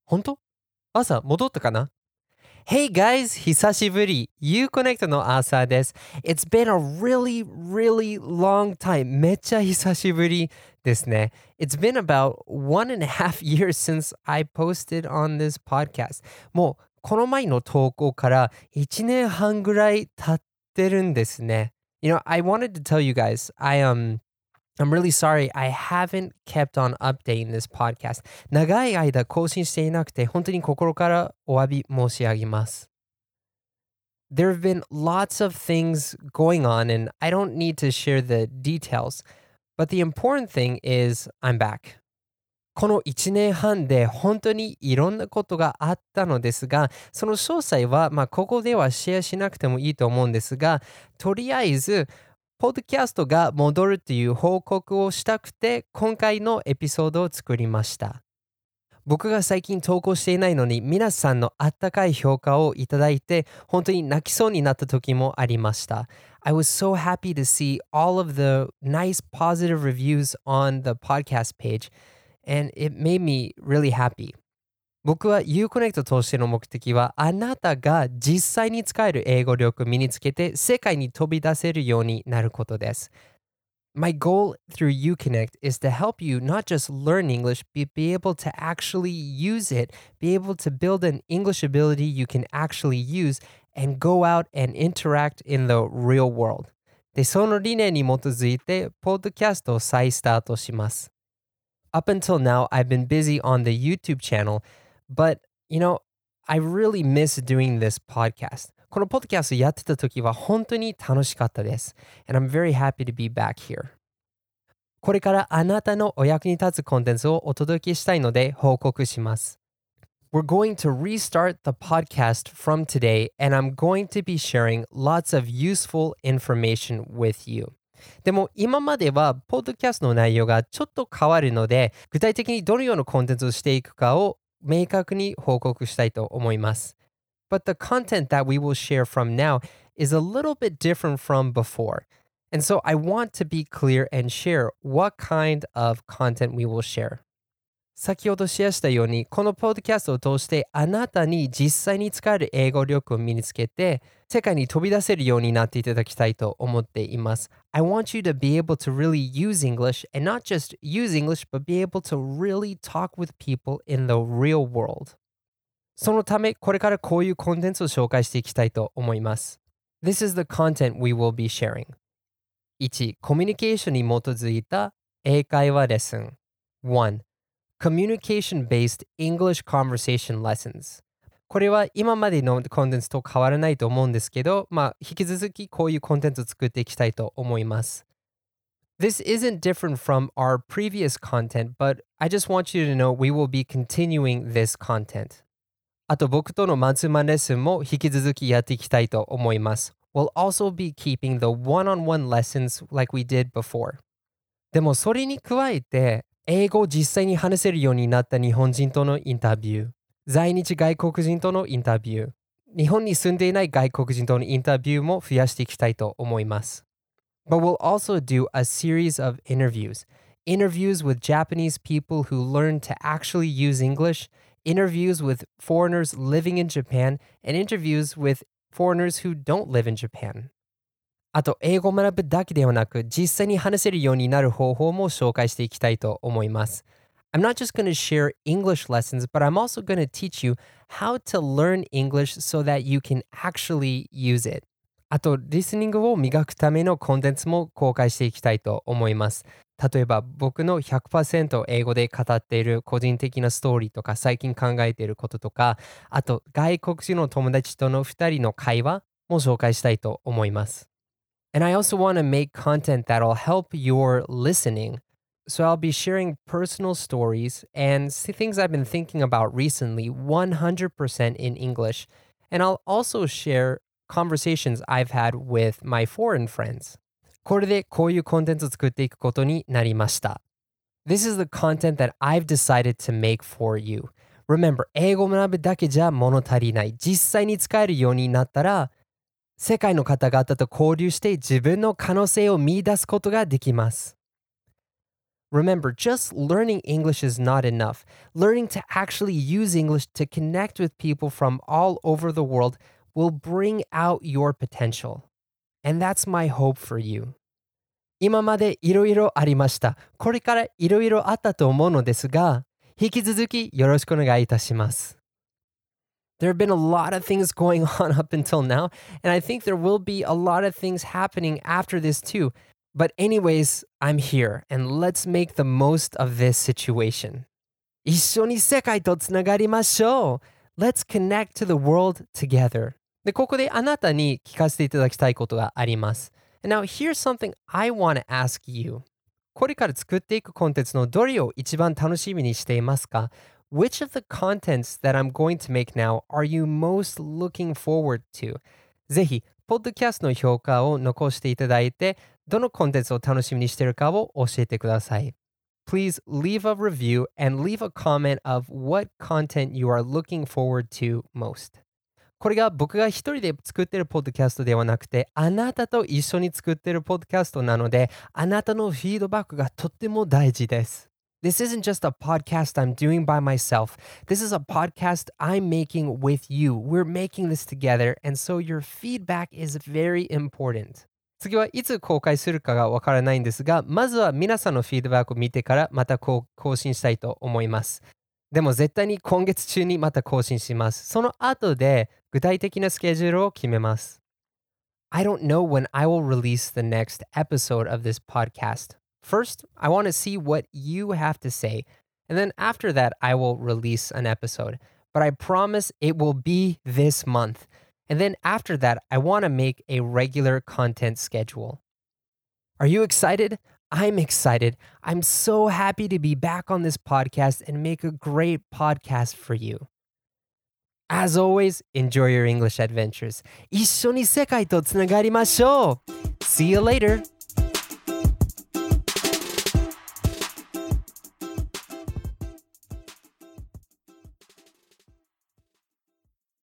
本当？朝戻ったかな？ Hey guys! 久しぶり Uconnect の朝です。It's been a really, really long time. めっちゃ久しぶりですね。It's been about 1.5 years since I posted on this podcast. もうこの前の投稿から1年半ぐらい経ってるんですね。You know, I wanted to tell you guys, I'm really sorry I haven't kept on updating this podcast. 長い間更新していなくて本当に心からお詫び申し上げます。There have been lots of things going on and I don't need to share the details. But the important thing is I'm back. この1年半で本当にいろんなことがあったのですが、その詳細はここではシェアしなくてもいいと思うんですが、とりあえずポッドキャストが戻るという報告をしたくて、今回のエピソードを作りました。僕が最近投稿していないのに、皆さんのあったかい評価をいただいて、本当に泣きそうになった時もありました。I was so happy to see all of the nice positive reviews on the podcast page, and it made me really happy. 僕は Uconnect としての目的はあなたが実際に使える英語力を身につけて世界に飛び出せるようになることです。My goal through Uconnect is to help you not just learn English, but be able to actually use it, be able to build an English ability you can actually use and go out and interact in the real world. で、その理念に基づいて、ポッドキャストを再スタートします。Up until now, I've been busy on the YouTube channel, but, I really miss doing this podcast. このポッドキャストやってた時は本当に楽しかったです。And I'm very happy to be back here. これからあなたのお役に立つコンテンツをお届けしたいので報告します。We're going to restart the podcast from today, and I'm going to be sharing lots of useful information with you. でも今まではポッドキャストの内容がちょっと変わるので、具体的にどのようなコンテンツをしていくかを明確に報告したいと思います。But the content that we will share from now is a little bit different from before. And so I want to be clear and share what kind of content we will share. 先ほどシェアしたように、このポッドキャストを通してあなたに実際に使える英語力を身につけて、世界に飛び出せるようになっていただきたいと思っています。I want you to be able to really use English and not just use English, but be able to really talk with people in the real world. そのため、これからこういうコンテンツを紹介していきたいと思います。This is the content we will be sharing. 1. コミュニケーションに基づいた英会話レッスン。1. Communication-based English conversation lessons. これは今までのコンテンツと変わらないと思うんですけど、引き続きこういうコンテンツを作っていきたいと思います。This isn't different from our previous content, but I just want you to know we will be continuing this content. あと僕とのマンツーマンレッスンも引き続きやっていきたいと思います。We'll also be keeping the one-on-one lessons like we did before. でもそれに加えて、英語を実際に話せるようになった日本人とのインタビュー、在日外国人とのインタビュー、日本に住んでいない外国人とのインタビューも増やしていきたいと思います。But we'll also do a series of interviews. Interviews with Japanese people who learn to actually use English, interviews with foreigners living in Japan, and interviews with foreigners who don't live in Japan. あと、英語を学ぶだけではなく、実際に話せるようになる方法も紹介していきたいと思います。I'm not just going to share English lessons, but I'm also going to teach you how to learn English so that you can actually use it. あと、リスニングを磨くためのコンテンツも公開していきたいと思います。例えば、僕の 100% 英語で語っている個人的なストーリーとか、最近考えていることとか、あと、外国人の友達との2人の会話も紹介したいと思います。And I also want to make content that'll help your listening. So I'll be sharing personal stories and things I've been thinking about recently 100% in English. And I'll also share conversations I've had with my foreign friends. これでこういうコンテンツを作っていくことになりました。This is the content that I've decided to make for you. Remember, 英語を学ぶだけじゃ物足りない。実際に使えるようになったら、世界の方々と交流して自分の可能性を見出すことができます。 Remember, just learning English is not enough. Learning to actually use English to connect with people from all over the world will bring out your potential. And that's my hope for you. 今までいろいろありました。これからいろいろあったと思うのですが、引き続きよろしくお願いいたします。There have been a lot of things going on up until now, and I think there will be a lot of things happening after this too. But anyways, I'm here, and let's make the most of this situation. 一緒に世界とつながりましょう。Let's connect to the world together. で、ここであなたに聞かせていただきたいことがあります。And now here's something I want to ask you. これから作っていくコンテンツのどれを一番楽しみにしていますか？ Which of the contents that I'm going to make now are you most looking forward to? ぜひ、ポッドキャストの評価を残していただいて、どのコンテンツを楽しみにしているかを教えてください。Please leave a review and leave a comment of what content you are looking forward to most. これが僕が一人で作っているポッドキャストではなくて、あなたと一緒に作っているポッドキャストなので、あなたのフィードバックがとっても大事です。This isn't just a podcast I'm doing by myself. This is a podcast I'm making with you. We're making this together, and so your feedback is very important. 次はいつ公開するかがわからないんですが、まずは皆さんのフィードバックを見てからまた更新したいと思います。でも絶対に今月中にまた更新します。その後で具体的なスケジュールを決めます。I don't know when I will release the next episode of this podcast. First, I want to see what you have to say, and then after that, I will release an episode. But I promise it will be this month. And then after that, I want to make a regular content schedule. Are you excited? I'm excited. I'm so happy to be back on this podcast and make a great podcast for you. As always, enjoy your English adventures. 一緒に世界とつながりましょう. See you later.